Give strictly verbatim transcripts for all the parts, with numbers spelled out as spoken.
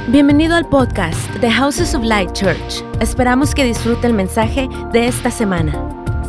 Bienvenido al podcast de Houses of Light Church. Esperamos que disfrute el mensaje de esta semana.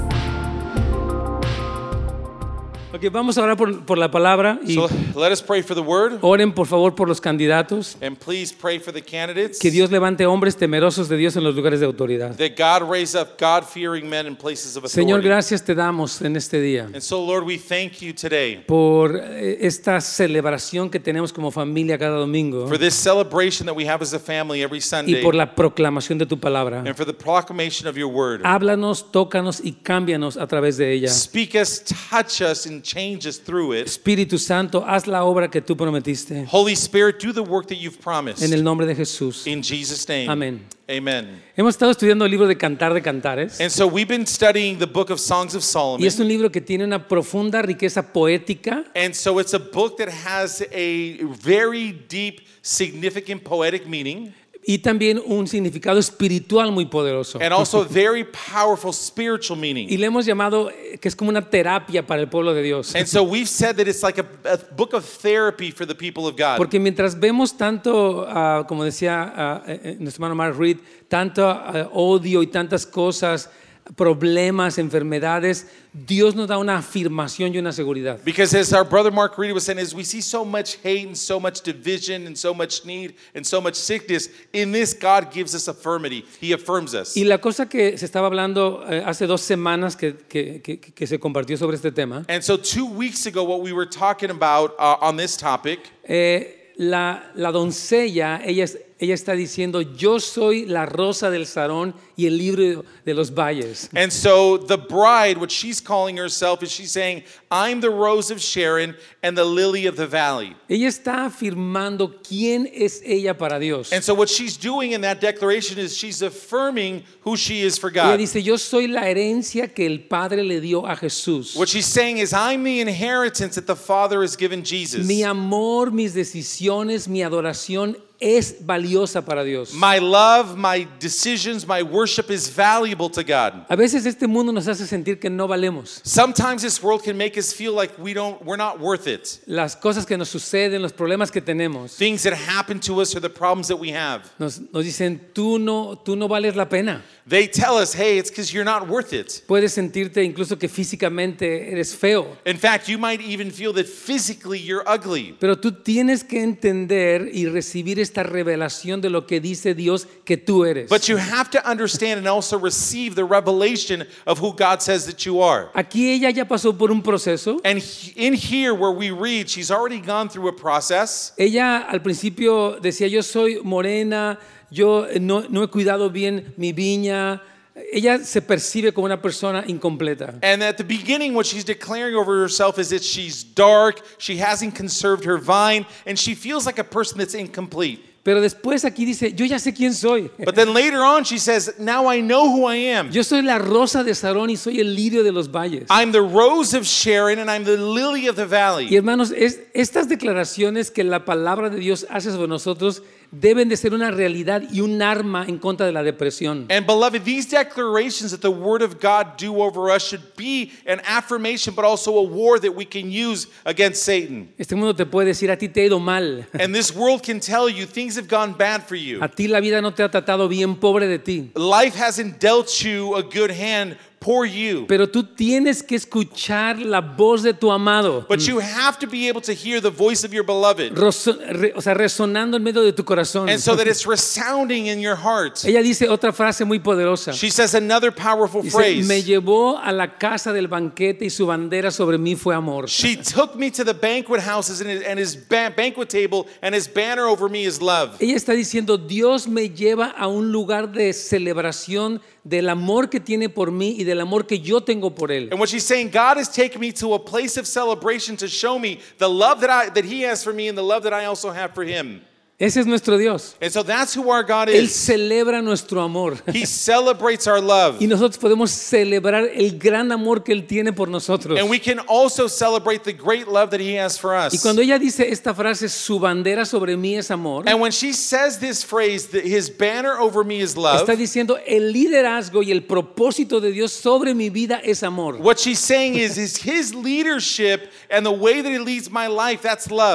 Ok, vamos a orar por, por la palabra y So let us pray for the word, oren por favor por los candidatos. and please pray for the candidates. Que Dios levante hombres temerosos de Dios en los lugares de autoridad. That God raise up God-fearing men in places of authority. Señor, gracias te damos en este día And so, Lord, we thank you today por eh, esta celebración que tenemos como familia cada domingo for this celebration that we have as a family every y Sunday, por la proclamación de tu palabra. and for the proclamation of your word. Háblanos, tócanos y cámbianos a través de ella. Speak us, touch us, and change us through it. Espíritu Santo, haz la obra que tú prometiste. Holy Spirit, do the work that you've promised. En el nombre de Jesús. In Jesus' name. Amén. Amen. Hemos estado estudiando el libro de Cantar de Cantares. And so we've been studying the book of Songs of Solomon. Y es un libro que tiene una profunda riqueza poética. And so it's a book that has a very deep, significant poetic meaning. Y también un significado espiritual muy poderoso. And also a very powerful spiritual meaning. Y le hemos llamado eh, que es como una terapia para el pueblo de Dios. And so we've said that it's like a, a book of therapy for the people of God. Porque mientras vemos tanto, uh, como decía uh, eh, nuestro hermano Mark Reed, tanto uh, odio y tantas cosas, problemas, enfermedades, Dios nos da una afirmación y una seguridad. Because as our brother Mark Reed was saying, as we see so much hate and so much division and so much need and so much sickness, in this God gives us affirmity. He affirms us. Y la cosa que se estaba hablando eh, hace dos semanas que, que, que, que se compartió sobre este tema, And so two weeks ago, what we were talking about uh, on this topic, eh, la, la doncella, ella, es- ella está diciendo, yo soy la rosa del Sarón y el libro de los valles. and so the bride, what she's calling herself is she's saying, I'm the rose of Sharon and the lily of the valley. Ella está afirmando quién es ella para Dios. And so what she's doing in that declaration is she's affirming who she is for Ella God. dice, yo soy la herencia que el Padre le dio a Jesús. What she's saying is, I'm the inheritance that the Father has given Jesus. Mi amor, mis decisiones, mi adoración es valiosa para Dios. My love, my decisions, my worship is valuable to God. A veces este mundo nos hace sentir que no valemos. Sometimes this world can make us feel like we don't, we're not worth it. Las cosas que nos suceden, los problemas que tenemos, Things that happen to us or the problems that we have. nos, nos dicen, tú no, tú no vales la pena. They tell us, hey, it's because you're not worth it. Puedes sentirte incluso que físicamente eres feo, In fact, you might even feel that physically you're ugly. pero tú tienes que entender y recibir esta revelación de lo que dice Dios que tú eres. But you have to understand and also receive the revelation of who God says that you are. Aquí ella ya pasó por un proceso. And he- in here where we read, she's already gone through a process. Ella al principio decía, yo soy morena, yo no, no he cuidado bien mi viña. Ella se percibe como una persona incompleta. And at the beginning, what she's declaring over herself is that she's dark, she hasn't conserved her vine, and she feels like a person that's incomplete. Pero después aquí dice, yo ya sé quién soy. But then later on, she says, now I know who I am. Yo soy la rosa de Sarón y soy el lirio de los valles. I'm the rose of Sharon and I'm the lily of the Y valley. hermanos, es, estas declaraciones que la palabra de Dios hace sobre nosotros deben de ser una realidad y un arma en contra de la depresión. And beloved, these declarations that the word of God do over us should be an affirmation, but also a war that we can use against Satan. Este mundo te puede decir, a ti te ha ido mal. And this world can tell you things have gone bad for you. A ti la vida no te ha tratado bien, pobre de ti. Life hasn't dealt you a good hand. Poor you. Pero tú tienes que escuchar la voz de tu amado. But you have to be able to hear the voice of your beloved. Roso- re- o sea, resonando en medio de tu corazón. And so that it's resounding in your heart. Ella dice otra frase muy poderosa. She says another powerful Dice, phrase. me llevó a la casa del banquete y su bandera sobre mí fue amor. She took me to the banquet houses and his, and his ba- banquet table, and his banner over me is love. Ella está diciendo, Dios me lleva a un lugar de celebración del amor que tiene por mí y del amor que yo tengo por él. And what she's saying, God has taken me to a place of celebration to show me the love that I that He has for me and the love that I also have for Him. Ese es nuestro Dios. And so that's who our God Él is. celebra nuestro amor. He celebrates our love. Y nosotros podemos celebrar el gran amor que Él tiene por nosotros. And we can also celebrate the great love that He has for Y us. cuando ella dice esta frase, su bandera sobre mí es amor, And when she says this phrase, that His banner over me is love, está diciendo el liderazgo y el propósito de Dios sobre mi vida es amor. what she's saying is, is His leadership and the way that He leads my life, that's love.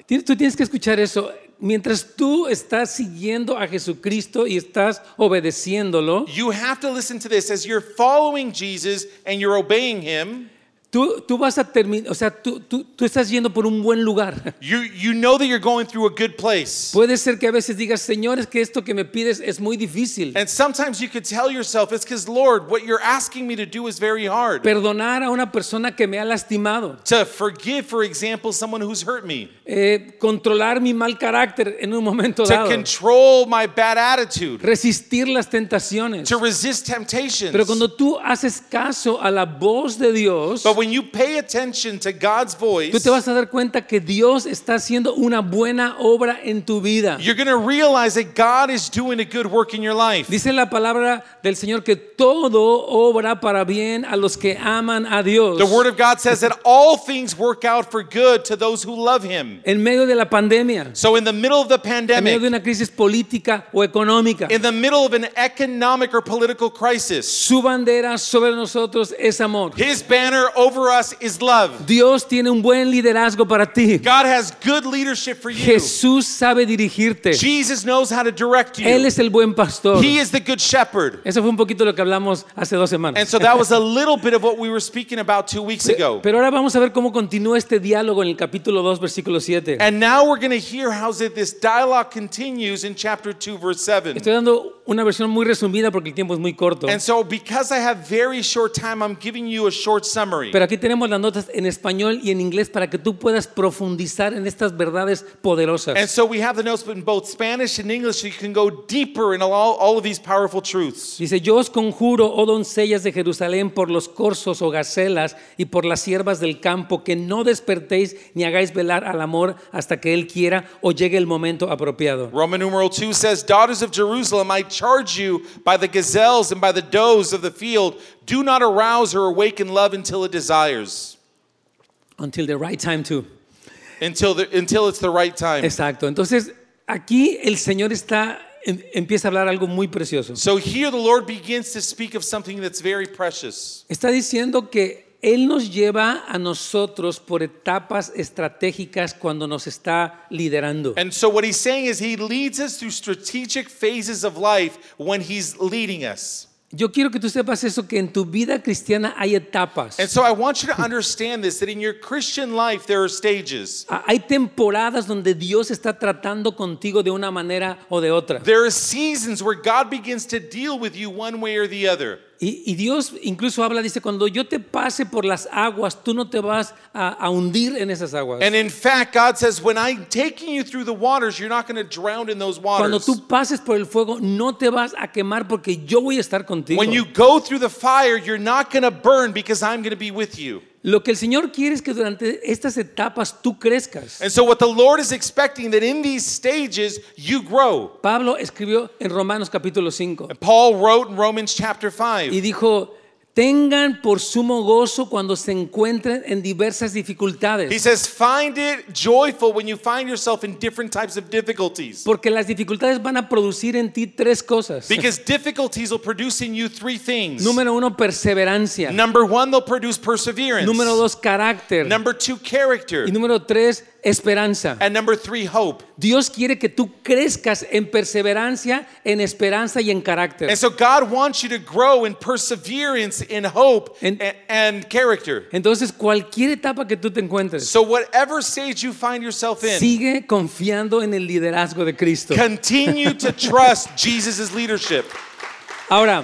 Tien- Tú tienes que escuchar eso. Mientras tú estás siguiendo a Jesucristo y estás obedeciéndolo, You have to listen to this. As you're following Jesus and you're obeying him, tú, tú vas a terminar, o sea, tú, tú, tú estás yendo por un buen lugar. you, you know that you're going through a good place. Puede ser que a veces digas, Señor, es que esto que me pides es muy difícil. And sometimes you could tell yourself, it's because, Lord, what you're asking me to do is very hard. Perdonar a una persona que me ha lastimado. To forgive, for example, someone who's hurt me. Eh, controlar mi mal carácter en un momento To dado. control my bad attitude. Resistir las tentaciones. To resist temptations. Pero cuando tú haces caso a la voz de Dios, But when you pay attention to God's voice, tú te vas a dar cuenta que Dios está haciendo una buena obra en tu vida. you're going to realize that God is doing a good work in your life. Dice la palabra del Señor que todo obra para bien a los que aman a Dios. The Word of God says that all things work out for good to those who love Him. En medio de la pandemia, So in the middle of the en medio de pandemic, una crisis política o económica, in the middle of an economic or political crisis, su bandera sobre nosotros es amor. His banner over us is love. Dios tiene un buen liderazgo para ti. God has good leadership for you. Jesús sabe dirigirte. Jesus knows how to direct Él you. es el buen pastor. He is the good shepherd. Eso fue un poquito lo que hablamos hace dos semanas. And so that was a little bit of what we were speaking about two weeks ago. Pero ahora vamos a ver cómo continúa este diálogo en el capítulo dos, versículo siete. And now we're going to hear how this dialogue continues in chapter two, verse seven. Estoy dando una versión muy resumida porque el tiempo es muy corto. And so because I have very short time, I'm giving you a short summary. Pero aquí tenemos las notas en español y en inglés para que tú puedas profundizar en estas verdades poderosas. And so we have the notes in both Spanish and English so you can go deeper in all, all of these powerful truths. Dice, yo os conjuro, oh doncellas de Jerusalén, por los corzos o gacelas y por las siervas del campo, que no despertéis ni hagáis velar al amor hasta que él quiera o llegue el momento apropiado. Roman numeral two says, daughters of Jerusalem, I charge you by the gazelles and by the does of the field, do not arouse or awaken love until it desires. Until the right time too. Until, the, until it's the right time. Exacto. Entonces, aquí el Señor está em- empieza a hablar algo muy precioso. So here the Lord begins to speak of something that's very precious. Está diciendo que Él nos lleva a nosotros por etapas estratégicas cuando nos está liderando. And so what he's saying is he leads us through strategic phases of life when he's leading us. Yo quiero que tú sepas eso, que en tu vida cristiana hay etapas. And so I want you to understand this, that in your Christian life there are stages. Ah, Hay temporadas donde Dios está tratando contigo de una manera o de otra. There are seasons where God begins to deal with you one way or the other. Y, y Dios incluso habla, dice, cuando yo te pase por las aguas, tú no te vas a, a hundir en esas aguas. And in fact, God says, when I'm taking you through the waters, you're not going to drown in those Cuando waters. tú pases por el fuego, no te vas a quemar porque yo voy a estar contigo. When you go through the fire, you're not going to burn because I'm going to be with you. Lo que el Señor quiere es que durante estas etapas tú crezcas. And so what the Lord is expecting, that in these stages, you grow. Pablo escribió en Romanos capítulo cinco And Paul wrote in Romans chapter five. y dijo, tengan por sumo gozo cuando se encuentren en diversas dificultades. He says, find it joyful when you find yourself in different types of difficulties. Porque las dificultades van a producir en ti tres cosas. Because difficulties will produce in you three things. Número uno, perseverancia. Number one, they'll produce perseverance. Número dos, carácter. Number two, character. Y número tres, esperanza. And number three, hope. Dios quiere que tú crezcas en perseverancia, en esperanza y en carácter. And so God wants you to grow in perseverance, in hope, And- and, and character. Entonces, cualquier etapa que tú te encuentres, So whatever stage you find yourself in, sigue confiando en el liderazgo de Cristo. continue to trust Jesus' leadership. Ahora,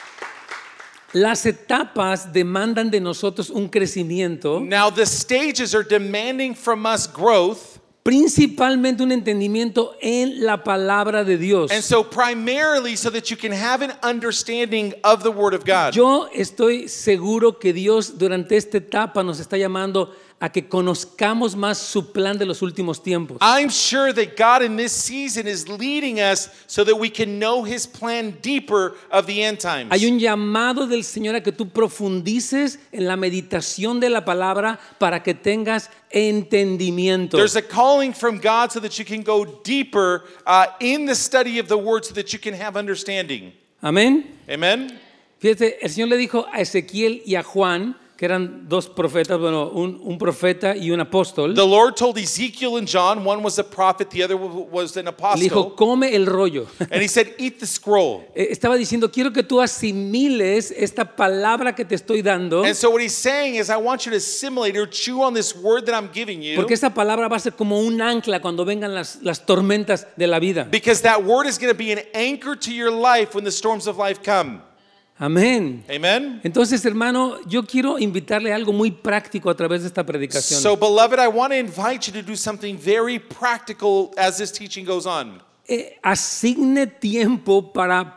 las etapas demandan de nosotros un crecimiento, Now the stages are demanding from us growth. principalmente un entendimiento en la palabra de Dios. And so primarily so that you can have an understanding of the Word of God. Yo estoy seguro que Dios durante esta etapa nos está llamando a que conozcamos más su plan de los últimos tiempos. I'm sure that God in this season is leading us so that we can know His plan deeper of the end times. Hay un llamado del Señor a que tú profundices en la meditación de la palabra para que tengas entendimiento. There's a calling from God so that you can go deeper uh, in the study of the Word so that you can have understanding. Amén. Amen? Fíjate, el Señor le dijo a Ezequiel y a Juan, que eran dos profetas, bueno, un, un profeta y un apóstol. The Lord told Ezekiel and John, one was a prophet, the other was an Le dijo, apostle. come el rollo. And he said, eat the scroll. Eh, Estaba diciendo, quiero que tú asimiles esta palabra que te estoy dando, And so what he's saying is, I want you to assimilate or chew on this word that I'm giving you. porque esa palabra va a ser como un ancla cuando vengan las, las tormentas de la vida. Because that word is going to be an anchor to your life when the storms of life come. Amén. Amen? Entonces, hermano, yo quiero invitarle a algo muy práctico a través de esta predicación. So, beloved, I want to invite you to do something very practical as this teaching goes on. Eh, asigne tiempo para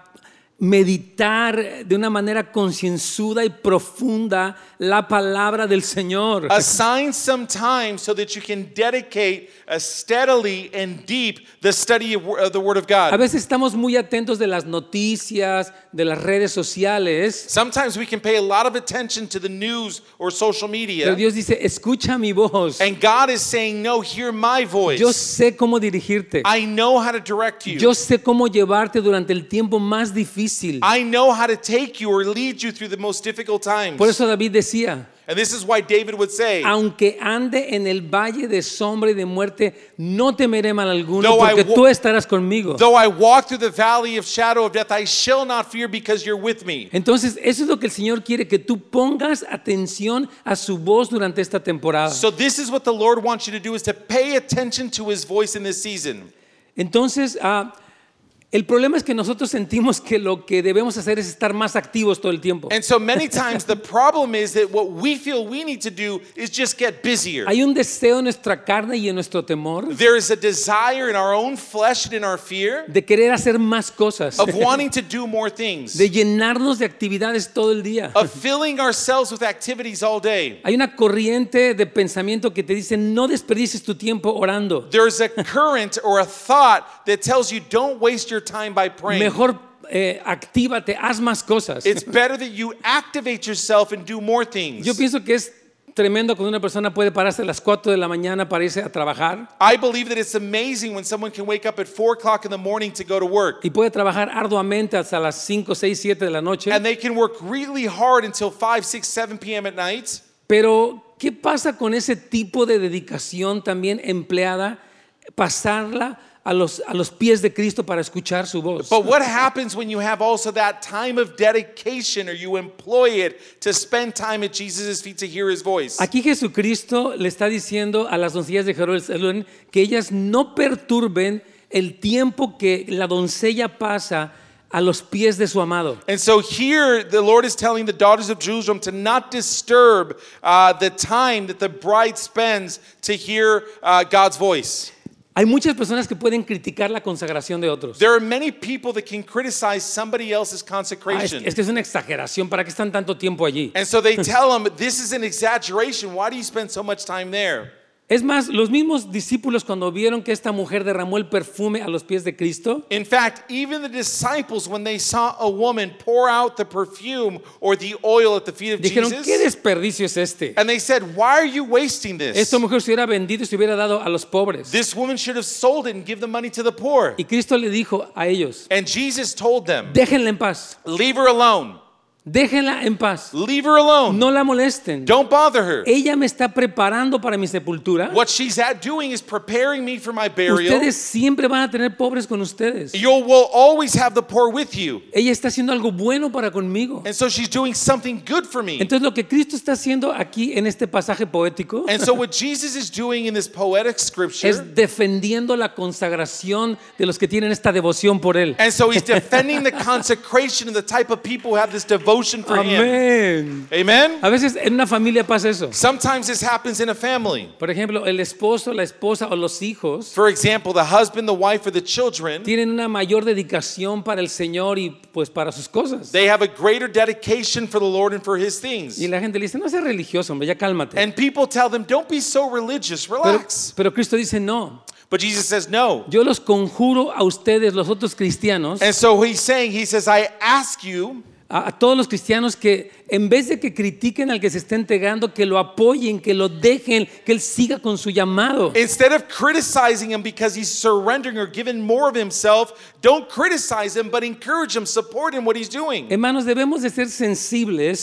meditar de una manera concienzuda y profunda la palabra del Señor. Assign some time so that you can dedicate uh, steadily and deep the study of, of the Word of A God. veces estamos muy atentos de las noticias, de las redes sociales, Sometimes we can pay a lot of attention to the news or social pero media. Dios dice, escucha mi voz. And God is saying, no, hear my voice. Yo sé cómo dirigirte. I know how to direct you. Yo sé cómo llevarte durante el tiempo más difícil. I know how to take you or lead you through the most difficult times. Por eso David decía, And this is why David would say, aunque ande en el valle de sombra y de muerte, no temeré mal alguno, Though I porque wa- tú estarás conmigo. though I walk through the valley of shadow of death, I shall not fear because you're with me. Entonces, eso es lo que el Señor quiere, que tú pongas atención a su voz durante esta temporada. So this is what the Lord wants you to do, is to pay attention to his voice in this season. Entonces, ah, el problema es que nosotros sentimos que lo que debemos hacer es estar más activos todo el tiempo. And so many times the problem is that what we feel we need to do is just get busier. Hay un deseo en nuestra carne y en nuestro temor There is a desire in our own flesh and in our fear de querer hacer más cosas, of wanting to do more things, de llenarnos de actividades todo el día. of filling ourselves with activities all day. Hay una corriente de pensamiento que te dice, no desperdicies tu tiempo orando. There's a current or a thought that tells you don't waste your time by praying. Mejor eh, actívate, haz más cosas. It's better that you activate yourself and do more things. Yo pienso que es tremendo cuando una persona puede pararse a las cuatro de la mañana para irse a trabajar I believe that it's amazing when someone can wake up at four o'clock in the morning to go to work. y puede trabajar arduamente hasta las cinco, seis, siete de la noche. And they can work really hard until five, six, seven p.m. at night. Pero, ¿qué pasa con ese tipo de dedicación también empleada? Pasarla a los, a los pies de Cristo para escuchar su voz. But what happens when you have also that time of dedication, or you employ it to spend time at Jesus' feet to hear his voice? Aquí Jesucristo le está diciendo a las doncellas de Jerusalén que ellas no perturben el tiempo que la doncella pasa a los pies de su amado. And so here the Lord is telling the daughters of Jerusalem to not disturb uh, the time that the bride spends to hear uh, God's voice. Hay muchas personas que pueden criticar la consagración de otros. There are many people that can criticize somebody else's Ah, es, consecration. es que es una exageración, ¿para qué están tanto tiempo allí? And so they tell them, this is an exaggeration. Why do you spend so much time there? Es más, los mismos discípulos cuando vieron que esta mujer derramó el perfume a los pies de Cristo, In fact, even the disciples, when they saw a woman pour out the perfume or the oil at the feet of dijeron, ¿qué Jesus, desperdicio es este? and they said, why are you wasting this? Esta mujer se hubiera vendido y se hubiera dado a los pobres. This woman should have sold it and give the money to the poor. Y Cristo le dijo a ellos, And Jesus told them, déjenla en paz, leave her alone. déjenla en paz, Leave her alone. no la molesten. Don't bother her. Ella me está preparando para mi sepultura. What she's at doing is preparing me for my burial. Ustedes siempre van a tener pobres con ustedes. You will always have the poor with you. Ella está haciendo algo bueno para conmigo. And so she's doing something good for me. Entonces lo que Cristo está haciendo aquí en este pasaje poético And so what Jesus is doing in this poetic scripture, es defendiendo la consagración de los que tienen esta devoción por Él. and so he's defending the consecration of the type of people who have this devotion for him. Amén. Amen? A veces en una familia pasa eso. Sometimes this happens in a family. Por ejemplo, el esposo, la esposa o los hijos For example, the husband, the wife, or the children, tienen una mayor dedicación para el Señor y pues para sus cosas. they have a greater dedication for the Lord and for his things. Y la gente le dice, no seas religioso, hombre, ya cálmate. And people tell them, don't be so religious, Pero, relax. pero Cristo dice, no, But Jesus says, no. yo los conjuro a ustedes, los otros cristianos, And so he's saying, he says, I ask you, a, a todos los cristianos que en vez de que critiquen al que se está entregando, que lo apoyen, que lo dejen, que él siga con su llamado. instead of criticizing him because he's surrendering or giving more of himself, don't criticize him, but encourage him, support him what he's doing. Hermanos, debemos de ser sensibles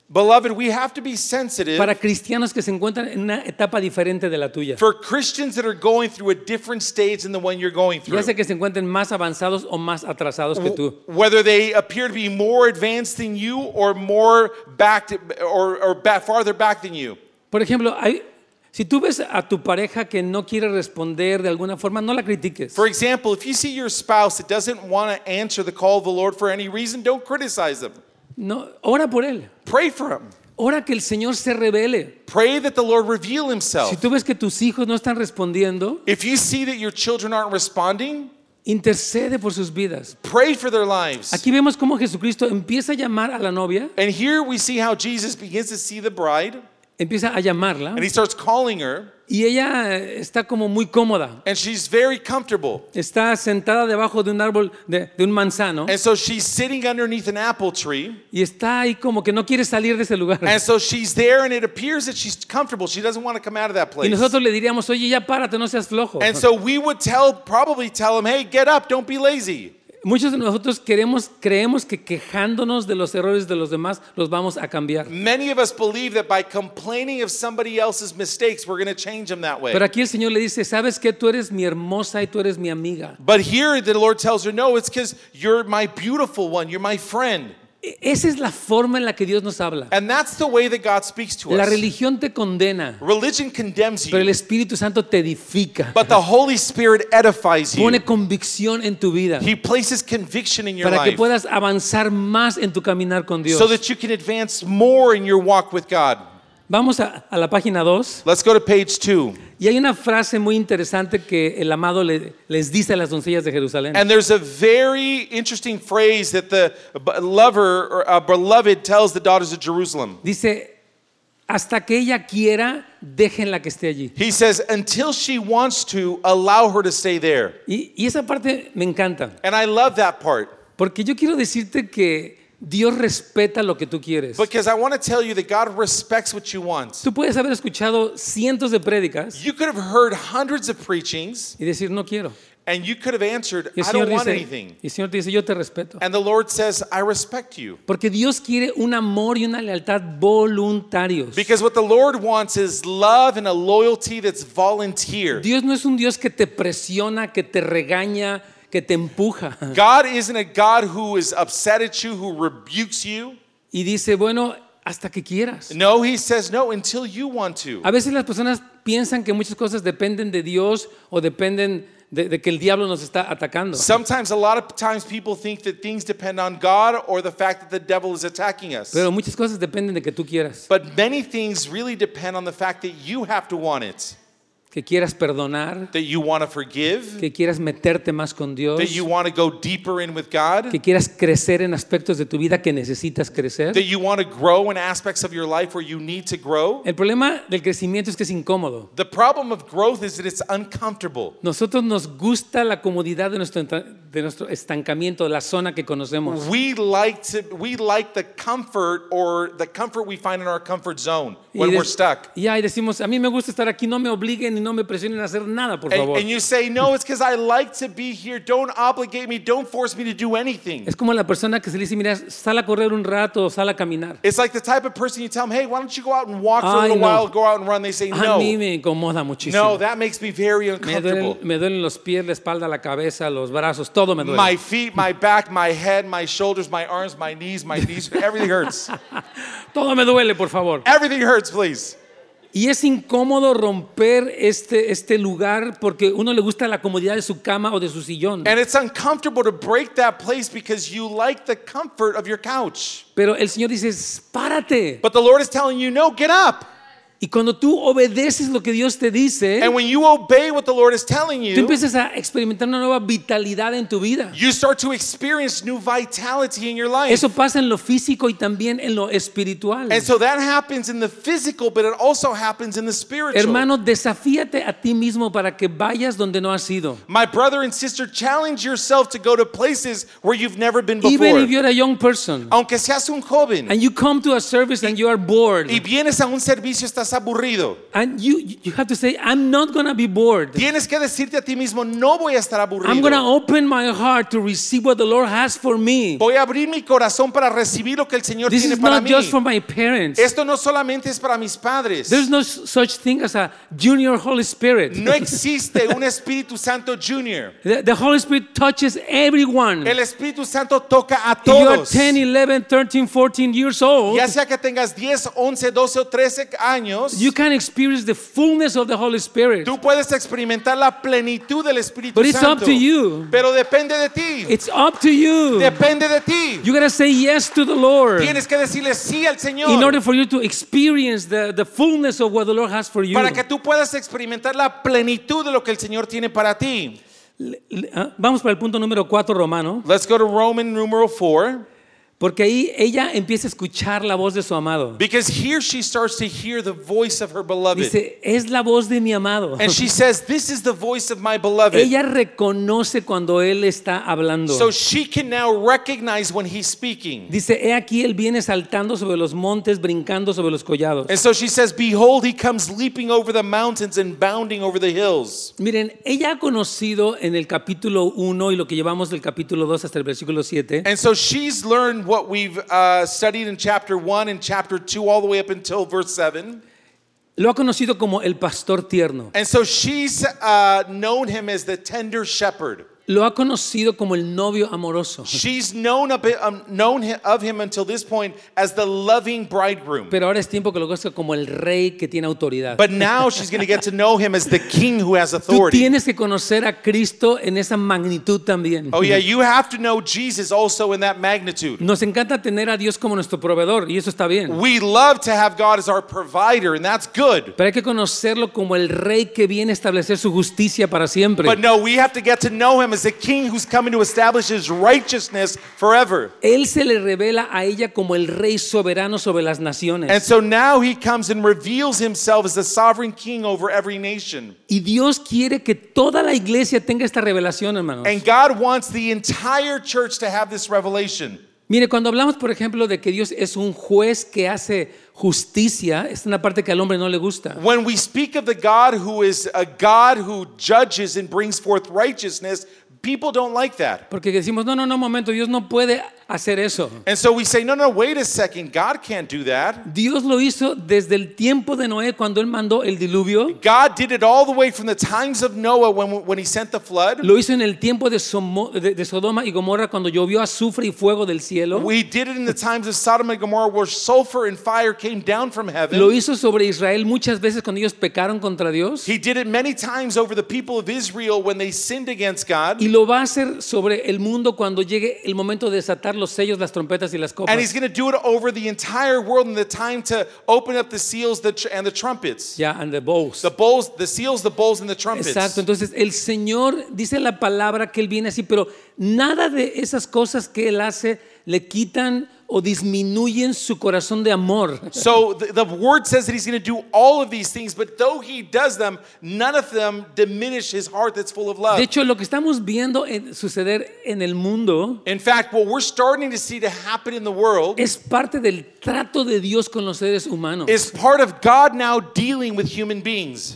Beloved, we have to be sensitive para cristianos que se encuentran en una etapa diferente de la tuya. for Christians that are going through a different stage than the one you're going through. Ya sea que se encuentren más avanzados o más atrasados que tú. Whether they appear to be more advanced than you or more back to, or, or back, farther back than you. Por ejemplo, hay, si tú ves a tu pareja que no quiere responder de alguna forma, no la critiques. For example, if you see your spouse that doesn't want to answer the call of the Lord for any reason, don't criticize them. No, ora por él. Pray for him. Ora que el Señor se revele. Pray that the Lord reveal Si himself. tú ves que tus hijos no están respondiendo, If you see that your children aren't responding, intercede por sus vidas. pray for their lives. Aquí vemos cómo Jesucristo empieza a llamar a la novia, And here we see how Jesus begins to see the bride, empieza a llamarla and he starts calling her, y ella eh, está como muy cómoda. and she's very comfortable. Está sentada debajo de un árbol, de, de un manzano, And so she's sitting underneath an apple tree, y está ahí como que no quiere salir de ese lugar. and so she's there, and it appears that she's comfortable. She doesn't want to come out of that Y place. nosotros le diríamos, oye, ya párate, no seas flojo. And so we would tell, probably tell him, hey, get up, don't be lazy. Muchos de nosotros queremos, creemos que quejándonos de los errores de los demás los vamos a cambiar. Many of us believe that by complaining of somebody else's mistakes, we're going to change them that way. Pero aquí el Señor le dice, ¿sabes qué? Tú eres mi hermosa y tú eres mi amiga. But here the Lord tells her, no, it's because you're my beautiful one, you're my friend. E- Esa es la forma en la que Dios nos habla. And that's the way that God speaks to La us. religión te condena, Religion condemns pero el you, Espíritu Santo te edifica. but the Holy Spirit edifies you. Pone convicción en tu vida He places conviction in your para que life puedas avanzar más en tu caminar con Dios. so that you can advance more in your walk with God. Vamos a, a la página dos. Let's go to page two. Y hay una frase muy interesante que el amado le- les dice a las doncellas de Jerusalén. And there's a very interesting phrase that the b- lover or uh, beloved tells the daughters of Jerusalem. Dice, hasta que ella quiera, déjenla que esté allí. He says, until she wants to, allow her to stay there. Y, y esa parte me encanta, And I love that part porque yo quiero decirte que Dios respeta lo que tú quieres. because I want to tell you that God respects what you want. Tú puedes haber escuchado cientos de prédicas You could have heard hundreds of preachings y decir, no quiero. and you could have answered, Y el I Señor don't want dice, anything. y el Señor te dice, yo te respeto. And the Lord says, I respect you. Porque Dios quiere un amor y una lealtad voluntarios. Because what the Lord wants is love and a loyalty that's volunteer. Dios no es un Dios que te presiona, que te regaña, que te empuja. God isn't a God who is upset at you, who rebukes you. Y dice, bueno, hasta que quieras. No, he says no until you want to. A veces las personas piensan que muchas cosas dependen de Dios o dependen de, de que el diablo nos está atacando. Sometimes, a lot of times, people think that things depend on God or the fact that the devil is attacking us. Pero muchas cosas dependen de que tú quieras. But many things really depend on the fact that you have to want it, Que quieras perdonar, that you want to forgive, que quieras meterte más con Dios, that you want to go deeper in with God, que quieras crecer en aspectos de tu vida que necesitas crecer. that you want to grow in aspects of your life where you need to grow. El problema del crecimiento es que es incómodo. The problem of growth is that it's uncomfortable. Nosotros nos gusta la comodidad de nuestro, entra- de nuestro estancamiento, de la zona que conocemos. We like to we like the comfort or the comfort we find in our comfort zone when y, we're de- stuck. y ahí decimos, a mí me gusta estar aquí, no me obliguen y no me presionen a hacer nada, por And, favor. and you say, no, it's because I like to be here. Don't obligate me. Don't force me to do anything. Es como la persona que se le dice, mira, sal a correr un rato, sal a caminar. It's like the type of person you tell them, hey, why don't you go out and walk for a Ay, little no. while, go out and run. They say, A no. mí me incomoda muchísimo. No, that makes me very me, uncomfortable. duelen, me duelen los pies, la espalda, la cabeza, los brazos, todo me duele. My feet, my back, my head, my shoulders, my arms, my knees, my knees, everything hurts. Todo me duele, por favor. Everything hurts, please. Y es incómodo romper este, este lugar porque uno le gusta la comodidad de su cama o de su sillón. And it's uncomfortable to break that place because you like the comfort of your couch. Pero el Señor dice, párate. But the Lord is telling you, no, get up. Y cuando tú obedeces lo que Dios te dice, And when you obey what the Lord is telling tú you, empiezas a experimentar una nueva vitalidad en tu vida. you start to experience new vitality in your life. Eso pasa en lo físico y también en lo espiritual. And so that happens in the physical, but it also happens in the spiritual. Hermano, desafíate a ti mismo para que vayas donde no has ido. My brother and sister, challenge yourself to go to places where you've never been Even before. if you're a young person Aunque seas un joven and you come to a service and you are bored, y vienes a un servicio, estás estás aburrido. And you, you have to say, I'm not going to be bored. Tienes que decirte a ti mismo, no voy a estar aburrido. I'm going to open my heart to receive what the Lord has for me. Voy a abrir mi corazón para recibir lo que el Señor This tiene is para not mí. just for my parents. Esto no solamente es para mis padres. There's no such thing as a junior Holy Spirit. No existe un Espíritu Santo Junior. The, the Holy Spirit touches everyone. El Espíritu Santo toca a If you are todos. ten, eleven, thirteen, fourteen years old, Ya sea que tengas diez, once, doce o trece años, you can experience the fullness of the Holy Spirit. tú puedes experimentar la plenitud del Espíritu But it's Santo. up to you. Pero depende de ti. It's up to you. Depende de ti. You gotta say yes to the Lord Tienes que decirle sí al Señor. in order for you to experience the, the fullness of what the Lord has for you. Para que tú puedas experimentar la plenitud de lo que el Señor tiene para ti. Le- le- ah, Vamos para el punto número cuatro, Romano, Let's go to Roman numeral four. porque ahí ella empieza a escuchar la voz de su amado. Because here she starts to hear the voice of her beloved. Dice, es la voz de mi amado. And she says, this is the voice of my beloved. Ella reconoce cuando él está hablando. So she can now recognize when he's speaking. Dice, he aquí él viene saltando sobre los montes, brincando sobre los collados. And so she says, behold, he comes leaping over the mountains and bounding over the hills. Miren, ella ha conocido en el capítulo uno y lo que llevamos del capítulo dos hasta el versículo siete, And so she's learned what we've uh, studied in chapter one and chapter two all the way up until verse seven. lo ha conocido como el pastor tierno. And so she's uh, known him as the tender shepherd. Lo ha conocido como el novio amoroso. She's known, of, um, known hi- of him until this point as the loving bridegroom. Pero ahora es tiempo que lo conozca como el rey que tiene autoridad. But now she's going to get to know him as the king who has Tú authority. tienes que conocer a Cristo en esa magnitud también. Oh yeah, you have to know Jesus also in that magnitude. Nos encanta tener a Dios como nuestro proveedor y eso está bien. We love to have God as our provider, and that's good. Pero hay que conocerlo como el rey que viene a establecer su justicia para siempre. But no, we have to get to know him as the king who's coming to establish his righteousness forever. Él se le revela a ella como el rey soberano sobre las naciones. And so now he comes and reveals himself as the sovereign king over every nation. Y Dios quiere que toda la iglesia tenga esta revelación, hermanos. And God wants the entire church to have this revelation. Mire, cuando hablamos, por ejemplo, de que Dios es un juez que hace justicia, es una parte que al hombre no le gusta. When we speak of the God who is a God who judges and brings forth righteousness, people don't like that. Porque decimos, no, no, no, un momento, Dios no puede hacer eso. And so we say, no, no, wait a second. God can't do that. Dios lo hizo desde el tiempo de Noé cuando él mandó el diluvio. God did it all the way from the times of Noah when, when he sent the flood. Lo hizo en el tiempo de, Somo- de- de Sodoma y Gomorra cuando llovió azufre y fuego del cielo. We did it in the times of Sodom and Gomorrah where sulfur and fire came down from heaven. Lo hizo sobre Israel muchas veces cuando ellos pecaron contra Dios. He did it many times over the people of Israel when they sinned against God. Y lo va a hacer sobre el mundo cuando llegue el momento de desatar los sellos, las trompetas y las copas. And he's going to do it over the entire world in the time to open up the seals the tr- and the trumpets. Yeah, and the bowls. The bowls, the seals, the bowls, and the trumpets. Exacto, entonces el Señor dice la palabra que Él viene así, pero nada de esas cosas que Él hace le quitan o disminuyen su corazón de amor. So the, the word says that he's going to do all of these things, but though he does them, none of them diminish his heart that's full of love. De hecho, lo que estamos viendo en- suceder en el mundo In fact, what we're starting to see to happen in the world es parte del trato de Dios con los seres humanos. is part of God now dealing with human beings.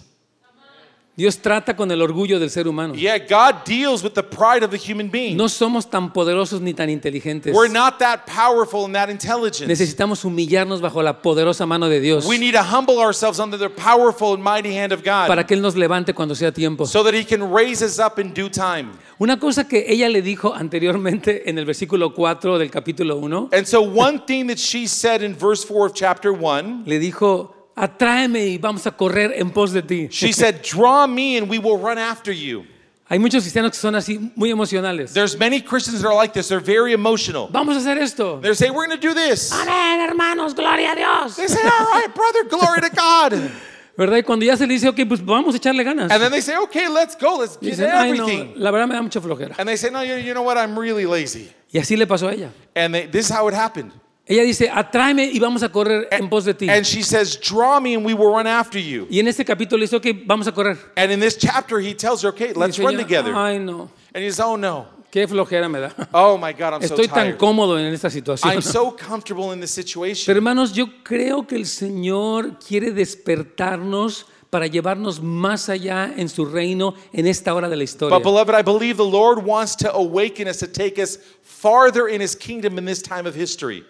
Dios trata con el orgullo del ser humano. Yeah, God deals with the pride of the human being. No somos tan poderosos ni tan inteligentes. We're not that powerful and that intelligent. Necesitamos humillarnos bajo la poderosa mano de Dios We need to humble ourselves under the powerful and mighty hand of God para que Él nos levante cuando sea tiempo. so that he can raise us up in due time. Una cosa que ella le dijo anteriormente en el versículo cuatro del capítulo uno, And so one thing that she said in verse four of chapter one, le dijo, atráeme y vamos a correr en pos de ti. she said, draw me and we will run after you. Hay muchos cristianos que son así muy emocionales. There's many Christians that are like this. They're very emotional. Vamos a hacer esto. They say, we're going to do this. Amén, hermanos, gloria a Dios. They say, all right, brother, glory to God. ¿Verdad? Y cuando ya se le dice, ok, pues vamos a echarle ganas. And then they say, okay, let's go. Let's Y get dicen, ay, no, everything. la verdad me da mucha flojera. And they say, no, you, you know what? I'm really lazy. Y así le pasó a ella. And they, this is how it happened. Ella dice, atráeme y vamos a correr en pos de ti. And she says, draw me and we will run after you. Y en este capítulo le dice, ok, vamos a correr. And in this chapter, he tells her, okay, Y let's dice run ella, together. ay, no. And he says, oh no. Qué flojera me da. Oh my God, I'm so Estoy tan tired. cómodo en esta situación. I'm so comfortable in this situation. Pero hermanos, yo creo que el Señor quiere despertarnos para llevarnos más allá en su reino en esta hora de la historia. But beloved, I believe the Lord wants to awaken us to take us farther in His kingdom in this time of history.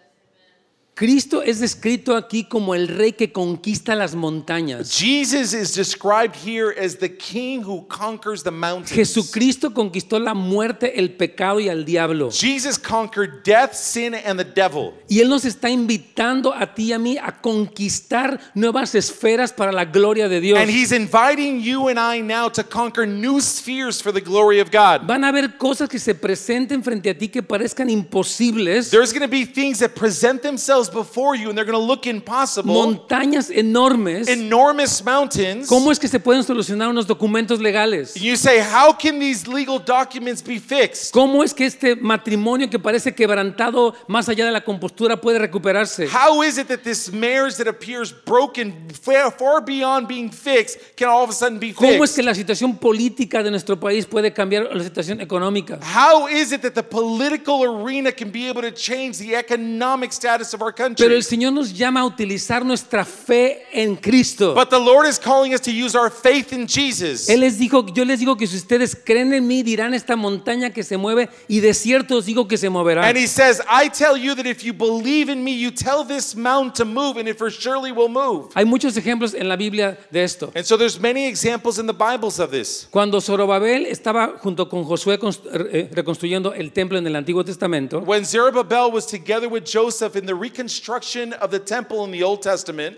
Cristo es descrito aquí como el rey que conquista las montañas. Jesus is described here as the king who conquers the mountains. Jesucristo conquistó la muerte, el pecado y al diablo. Jesus conquered death, sin, and the devil. Y Él nos está invitando a ti y a mí a conquistar nuevas esferas para la gloria de Dios. And He's inviting you and I now to conquer new spheres for the glory of God. Van a haber cosas que se presenten frente a ti que parezcan imposibles. There's going to be things that present themselves before you and they're going to look impossible. Montañas enormes. Enormous mountains. ¿Cómo es que se pueden solucionar unos documentos legales? You say, how can these legal documents be fixed? ¿Cómo es que este matrimonio que parece quebrantado más allá de la compostura puede recuperarse? How is it that this marriage that appears broken far, far beyond being fixed can all of a sudden be ¿Cómo es fixed? que la situación política de nuestro país puede cambiar la situación económica? How is it that the political arena can be able to change the economic status of our Pero country? el Señor nos llama a utilizar nuestra fe en Cristo. But the Lord is calling us to use our faith in Jesus. Él les dijo, yo les digo que si ustedes creen en mí, dirán esta montaña que se mueve y de cierto os digo que se moverá. And He says, I tell you that if you believe in me, you tell this mountain to move and it for surely will move. Hay muchos ejemplos en la Biblia de esto. And so there's many examples in the Bibles of this. Cuando Zorobabel estaba junto con Josué constru- eh, reconstruyendo el templo en el Antiguo Testamento, When Zerubbabel was together with Joseph in the reconstruction of the temple in the Old Testament,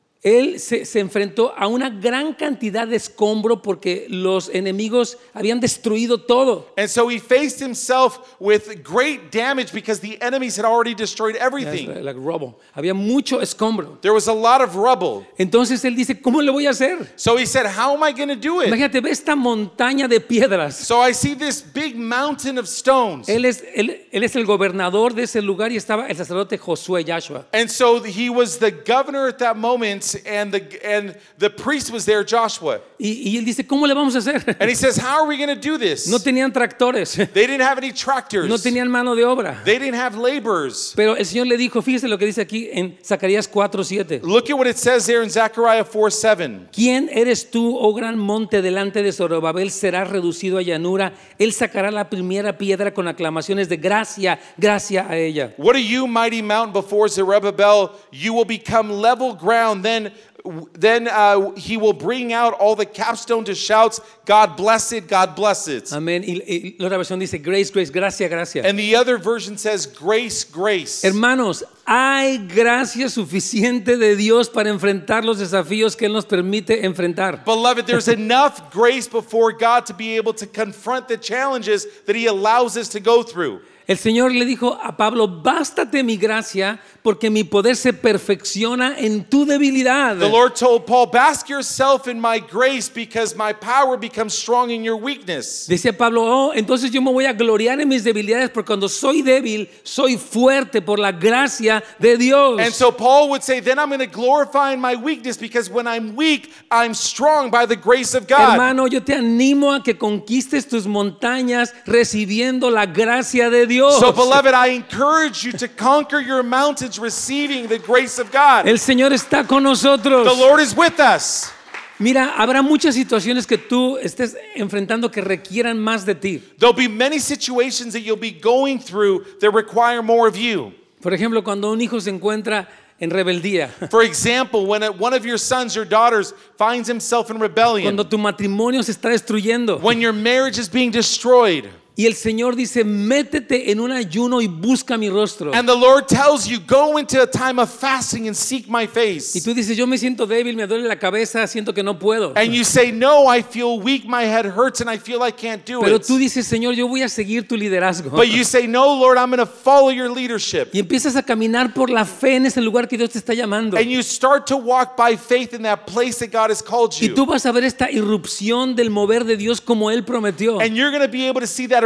él se, se enfrentó a una gran cantidad de escombro porque los enemigos habían destruido todo. and so he faced himself with great damage because the enemies had already destroyed everything. Like rubble. Había mucho escombro. There was a lot of rubble. Entonces él dice, ¿cómo le voy a hacer? So he said, how am I going to do it? Imagínate, ve esta montaña de piedras. So I see this big mountain of stones. Él es, él, él es el gobernador de ese lugar y estaba el sacerdote Josué Yahshua. And so he was the governor at that moment, and the and the priest was there, Joshua. Y, y él dice, ¿cómo le vamos a hacer? And he says, how are we going to do this? No tenían tractores, They didn't have any tractors. no tenían mano de obra. They didn't have laborers. Pero el Señor le dijo, fíjese lo que dice aquí en Zacarías cuatro siete. Look at what it says there in Zechariah four seven. ¿Quién eres tú, oh gran monte, delante de Zorobabel? Serás reducido a llanura. Él sacará la primera piedra con aclamaciones de gracia, gracia a ella. What are you, mighty mountain, before Zerubbabel? You will become level ground. Then, then uh, he will bring out all the capstone to shouts, God bless it, God bless it. Amén. Y, y la otra versión dice, grace, grace, gracia, gracia. And the other version says, grace, grace. Hermanos, hay gracia suficiente de Dios para enfrentar los desafíos que Él nos permite enfrentar. Beloved, there's enough grace before God to be able to confront the challenges that He allows us to go through. El Señor le dijo a Pablo, bástate mi gracia porque mi poder se perfecciona en tu debilidad. The Lord told Paul, bask yourself in my grace because my power becomes strong in your weakness. Decía Pablo, oh, entonces yo me voy a gloriar en mis debilidades porque cuando soy débil, soy fuerte por la gracia de Dios. And so Paul would say, then I'm going to glorify in my weakness because when I'm weak, I'm strong by the grace of God. Hermano, yo te animo a que conquistes tus montañas recibiendo la gracia de Dios. So beloved, I encourage you to conquer your mountains receiving the grace of God. El Señor está con nosotros. The Lord is with us. Mira, habrá muchas situaciones que tú estés enfrentando que requieran más de ti. There'll be many situations that you'll be going through that require more of you. Por ejemplo, cuando un hijo se encuentra en rebeldía, For example, when a- one of your sons or daughters finds himself in rebellion, cuando tu matrimonio se está destruyendo when your marriage is being destroyed, y el Señor dice, métete en un ayuno y busca mi rostro. and the Lord tells you, go into a time of fasting and seek my Y face. tú dices, yo me siento débil, me duele la cabeza, siento que no puedo. And you say, no, I feel weak, my head hurts, and I feel I can't do Pero it. tú dices, Señor, yo voy a seguir tu liderazgo. But you say, no, Lord, I'm going to follow your leadership. Y empiezas a caminar por la fe en ese lugar que Dios te está llamando. And you start to walk by faith in that place that God has called Y tú you. vas a ver esta irrupción del mover de Dios como Él prometió. And you're going to be able to see that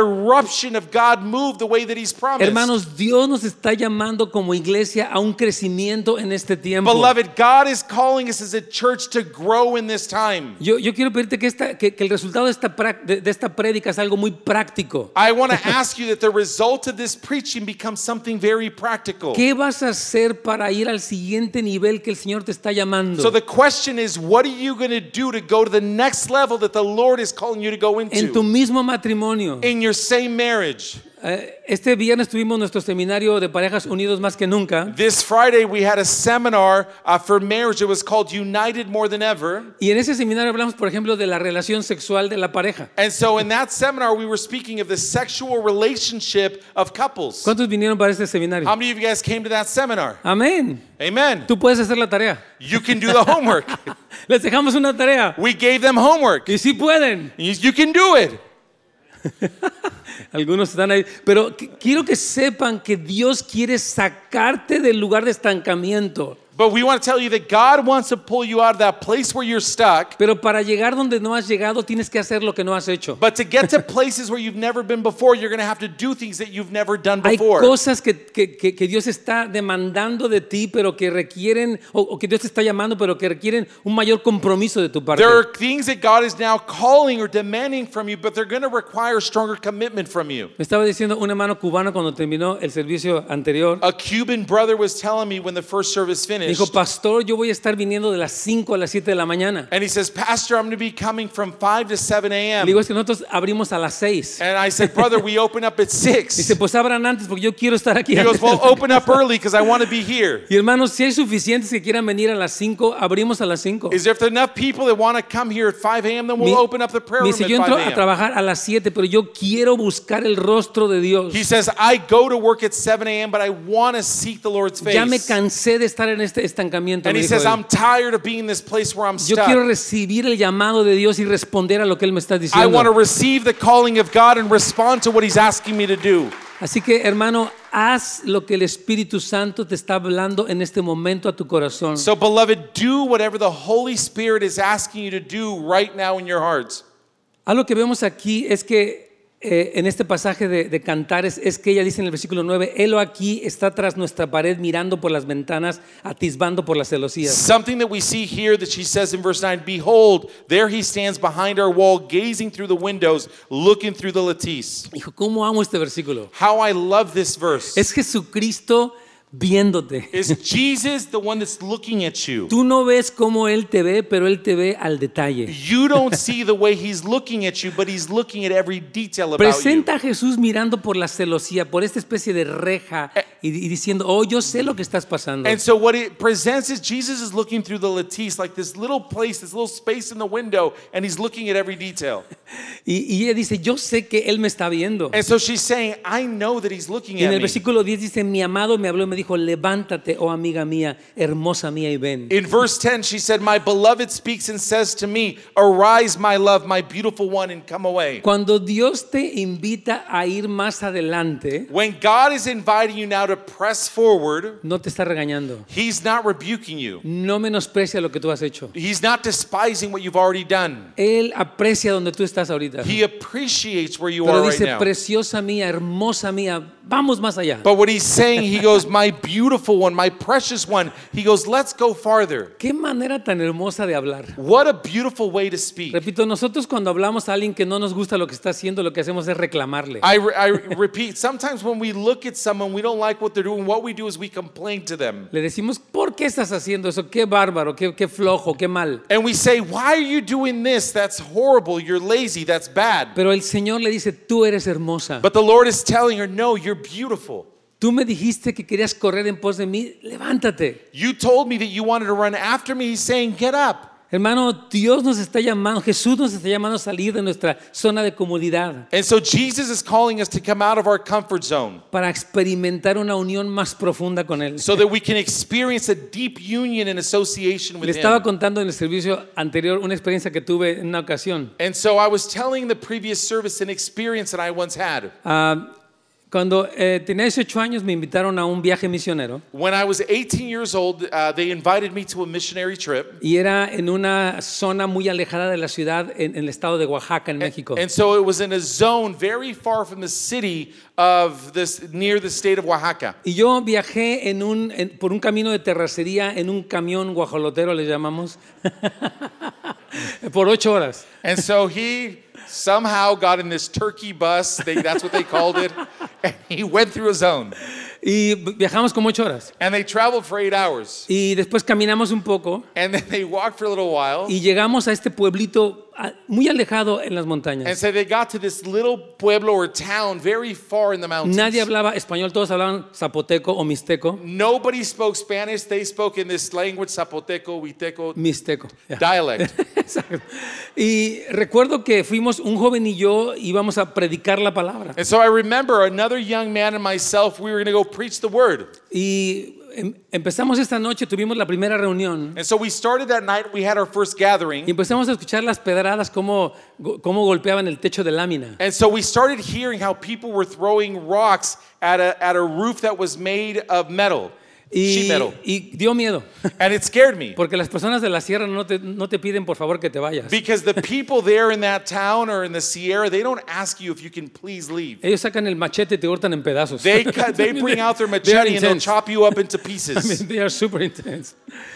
eruption of God move the way that He's promised. Hermanos, Dios nos está llamando como iglesia a un crecimiento en este tiempo. Beloved, God is calling us as a church to grow in this time. Yo, yo quiero pedirte que, esta, que, que el resultado de esta, prac- de, de esta prédica es algo muy práctico. I want to ask you that the result of this preaching becomes something very practical. ¿Qué vas a hacer para ir al siguiente nivel que el Señor te está llamando? So the question is, what are you going to do to go to the next level that the Lord is calling you to go En tu into mismo matrimonio. in your same marriage? Eh, Este viernes tuvimos nuestro seminario de parejas unidos más que nunca. This Friday we had a seminar uh, for marriage. It was called United More Than Ever. Y en ese seminario hablamos, por ejemplo, de la relación sexual de la pareja. And so in that seminar we were speaking of the sexual relationship of couples. ¿Cuántos vinieron para este seminario? How many of you guys came to that seminar? Amén. Amen. Tú puedes hacer la tarea. You can do the homework. Les dejamos una tarea. We gave them homework. Y sí pueden. You, you can do it. Algunos están ahí. Pero qu- quiero que sepan que Dios quiere sacarte del lugar de estancamiento. But we want to tell you that God wants to pull you out of that place where you're stuck. Pero para llegar donde no has llegado, tienes que hacer lo que no has hecho. But to get to places where you've never been before, you're going to have to do things that you've never done Hay before. cosas que, que, que, que Dios está demandando de ti, pero que requieren, o, o que Dios te está llamando, pero que requieren un mayor compromiso de tu parte. There are things that God is now calling or demanding from you, but they're going to require stronger commitment from you. Me estaba diciendo un hermano cubano cuando terminó el servicio anterior. A Cuban brother was telling me when the first service Me finished, dijo, pastor, yo voy a estar viniendo de las cinco a las siete de la mañana. and he says, Pastor, I'm going to be coming from five to seven Le digo, a.m. es que nosotros abrimos a las seis. And I said, brother, we open up at six. Dice, pues abran antes porque yo quiero estar aquí. He goes, well, open up early because I want to be here. Y hermanos, si hay suficientes que quieran venir a las cinco, abrimos a las cinco. Is there enough people that want to come here at five a.m., then we'll Mi- open up the prayer Me room dice, at yo entro five a a.m. trabajar a las siete, pero yo quiero buscar el rostro de Dios. He says, I go to work at seven a.m., but I want to seek the Lord's face. Ya me cansé de estar en este estancamiento. And me he dijo says, él. I'm tired of being in this place where I'm Yo quiero stuck. recibir el llamado de Dios y responder a lo que Él me está I want to diciendo. receive the calling of God and respond to what He's asking me to do. Así que, hermano, haz lo que el Espíritu Santo te está hablando en este momento a tu corazón. So, beloved, do whatever the Holy Spirit is asking you to do right now in your hearts. Algo que vemos aquí es que eh, en este pasaje de, de Cantares es que ella dice en el versículo nueve, Él aquí está tras nuestra pared mirando por las ventanas, atisbando por las celosías. Something that we see here that she says in verse nine, Behold, there He stands behind our wall, gazing through the windows, looking through the lattice. Hijo, ¿cómo amo este versículo? How I love this verse. Es Jesucristo viéndote. Is Jesus the one that's looking at you? Tú no ves cómo Él te ve, pero Él te ve al detalle. You don't see the way He's looking at you, but He's looking at every detail about you. Presenta a Jesús mirando por la celosía, por esta especie de reja y, y diciendo, oh, yo sé lo que estás pasando. And so what it presents is Jesus is looking through the lattice, like this little place, this little space in the window, and He's looking at every detail. Y, y ella dice, yo sé que Él me está viendo. And so she's saying, I know that He's looking Y en at el me. versículo diez dice, mi amado me habló y me dijo, levántate, oh amiga mía, hermosa mía, y ven. In verse ten, she said, My beloved speaks and says to me, Arise, my love, my beautiful one, and come away. Cuando Dios te invita a ir más adelante, When God is inviting you now to press forward, no te está regañando. He's not rebuking you. No menosprecia lo que tú has hecho. He's not despising what you've already done. Él aprecia donde tú estás ahorita. He appreciates where you Pero are right dice, now. preciosa mía, hermosa mía, vamos más allá. But what he's saying, he goes, my beautiful one, my precious one. He goes, let's go farther. Qué manera tan hermosa de hablar. What a beautiful way to speak. Repito, nosotros cuando hablamos a alguien que no nos gusta lo que está haciendo, lo que hacemos es reclamarle. I, re- I repeat, sometimes when we look at someone, we don't like what they're doing. What we do is we complain to them. Le decimos, ¿por qué estás haciendo eso? Qué bárbaro, qué, qué flojo, qué mal. And we say, why are you doing this? That's horrible. You're lazy. That's bad. Pero el Señor le dice, tú eres hermosa. But the Lord is telling her, no, you're beautiful. Tú me dijiste que querías correr en pos de mí, levántate. You told me that you wanted to run after me. He's saying, get up. Hermano, Dios nos está llamando, Jesús nos está llamando a salir de nuestra zona de comodidad And so Jesus is calling us to come out of our comfort zone para experimentar una unión más profunda con Él. so that we can experience a deep union and association Le with estaba Him. contando en el servicio anterior una experiencia que tuve en una ocasión. And so I was telling the previous service an experience that I once had. Ah, Cuando eh, tenía dieciocho años me invitaron a un viaje misionero When I was eighteen years old, uh, they invited me to a missionary trip. y era en una zona muy alejada de la ciudad en, en el estado de Oaxaca, en México. And so it was in a zone very far from the city of this, near the state of Oaxaca. Y yo viajé en un, en- por un camino de terracería en un camión guajolotero, le llamamos, por ocho horas. And so he somehow got in this turkey bus, they, that's what they called it, and he went through a zone. Y viajamos como ocho horas. And they traveled for eight hours. Y después caminamos un poco And then they walked for a little while. y llegamos a este pueblito ah, muy alejado en las And montañas. so they got to this little pueblo or town very far in the mountains. Nadie hablaba español, todos hablaban zapoteco o mixteco. Nobody spoke Spanish. They spoke in this language, Zapoteco, Huiteco Mixteco. ya. dialect. Exacto. Y recuerdo que fuimos, un joven y yo íbamos a predicar la palabra. And so I remember another young man and myself, we were going to go preach the word. Y em- empezamos esta noche, tuvimos la primera reunión. And so we started that night, we had our first gathering. Y empezamos a escuchar las pedradas, cómo, cómo golpeaban el techo de lámina. And so we started hearing how people were throwing rocks at a, at a roof that was made of metal, sheet Y, metal. y dio miedo, And it scared me. porque las personas de la sierra no te, no te piden por favor que te vayas. Because the people there in that town or in the Sierra, they don't ask you if you can please leave. Ellos sacan el machete y te cortan en pedazos. They cut, they bring out their They are machete and they'll intense. chop you up into I mean, pieces. they are super intense.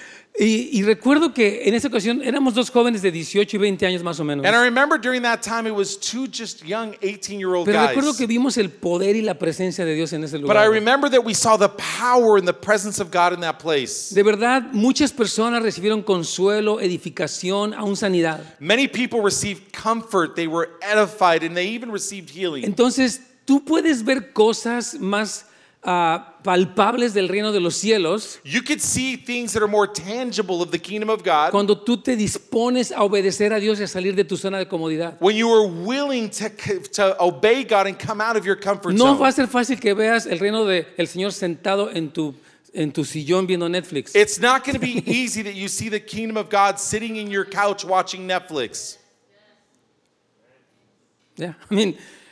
Y, y recuerdo que en esa ocasión éramos dos jóvenes de dieciocho y veinte años más o menos. And I remember during that time it was two just young eighteen-year-old Pero recuerdo guys. que vimos el poder y la presencia de Dios en ese But I lugar. remember that we saw the power and the presence of God in that place. De verdad, muchas personas recibieron consuelo, edificación, aún sanidad. Many people received comfort, they were edified, and they even received healing. Entonces, tú puedes ver cosas más ah, palpables del reino de los cielos You could see things that are more tangible of the kingdom of God cuando tú te dispones a obedecer a Dios y a salir de tu zona de comodidad. when you are willing to, to obey God and come out of your comfort No zone. va a ser fácil que veas el reino del Señor sentado en tu, en tu sillón viendo Netflix. It's not going to be easy that you see the kingdom of God sitting in your couch watching Netflix. Yeah, I mean,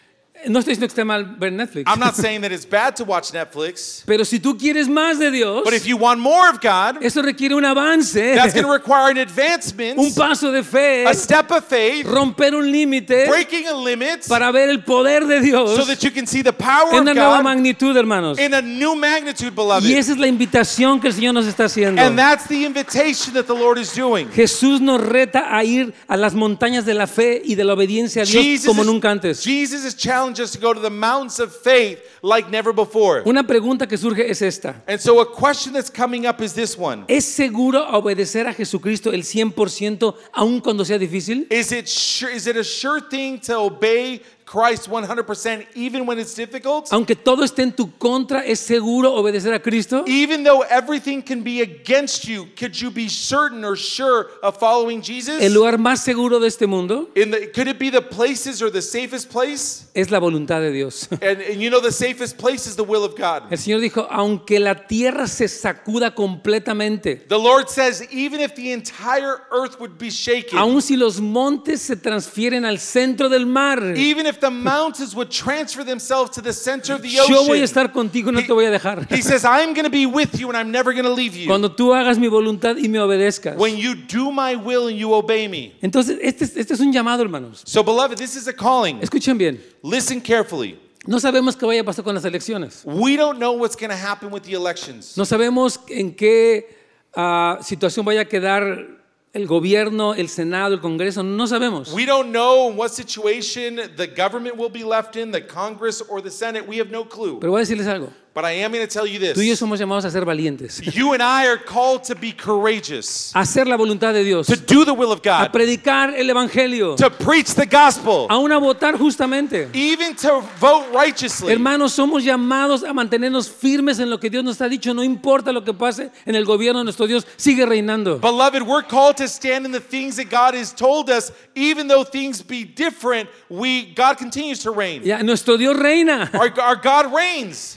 no estoy diciendo que esté mal ver Netflix. I'm not saying that it's bad to watch Netflix, Pero si tú quieres más de Dios, but if you want more of God, eso requiere un avance, that's going to require an advancement, un paso de fe, a step of faith, romper un límite breaking a limit para ver el poder de Dios so that you can see the power en of una nueva God magnitud, hermanos. in a new magnitude, beloved. Y esa es la invitación que el Señor nos está haciendo. And that's the invitation that the Lord is doing. Jesús nos reta a ir a las montañas de la fe y de la obediencia a Dios Jesus como is, nunca antes. Jesus has challenged us to go to the mountains of faith like never before. Una pregunta que surge es esta. And so a question that's coming up is this one. ¿Es seguro obedecer a Jesucristo el cien por ciento aun cuando sea difícil? Is it sure, is it a sure thing to obey Christ one hundred percent even when it's difficult? Aunque todo esté en tu contra, ¿es seguro obedecer a Cristo? Even though everything can be against you, could you be certain or sure of following Jesus? El lugar más seguro de este mundo In the, could it be the places or the safest place? es la voluntad de Dios. And, and you know the safest place is the will of God. El Señor dijo, aunque la tierra se sacuda completamente, The Lord says even if the entire earth would be shaken, aun si los montes se transfieren al centro del mar, even if the mountains would transfer themselves to the center of the yo voy a ocean, estar contigo y no te voy a dejar. He says, I'm going to be with you and I'm never going to leave you. Cuando tú hagas mi voluntad y me obedezcas. When you do my will and you obey me. Entonces, este, es- este es un llamado, hermanos. So, beloved, this is a calling. Escuchen bien. Listen carefully. No sabemos qué vaya a pasar con las elecciones. We don't know what's going to happen with the elections. No sabemos en qué ah, situación vaya a quedar el gobierno, el Senado, el Congreso. No sabemos. We don't know in what situation the government will be left in, the Congress or the Senate. We have no clue. Pero voy a decirles algo. But I am going to tell you Tú y yo this. somos llamados a ser valientes. You and I are called to be courageous, A hacer la voluntad de Dios. to do the will of A God, predicar el Evangelio. to preach the gospel, Aún a votar justamente. even to vote righteously. Hermanos, somos llamados a mantenernos firmes en lo que Dios nos ha dicho. No importa lo que pase en el gobierno, nuestro Dios sigue reinando. Beloved, we're called to stand in the things that God has told us, even though things be different. We God continues to reign. Ya, nuestro Dios reina. Our, our God reigns. El Señor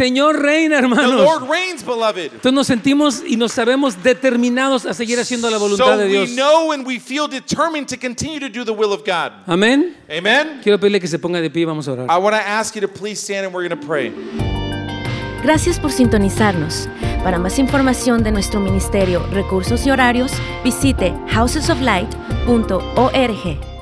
Señor reina, The hermanos. Lord reigns, beloved. Entonces nos sentimos y nos sabemos determinados a seguir haciendo la voluntad So de Dios. we know and we feel determined to continue to do the will of God. Amén. Amen? Quiero pedirle que se ponga de pie y vamos a orar. I want to ask you to please stand and we're going to pray. Gracias por sintonizarnos. Para más información de nuestro ministerio, recursos y horarios, visite houses of light punto org.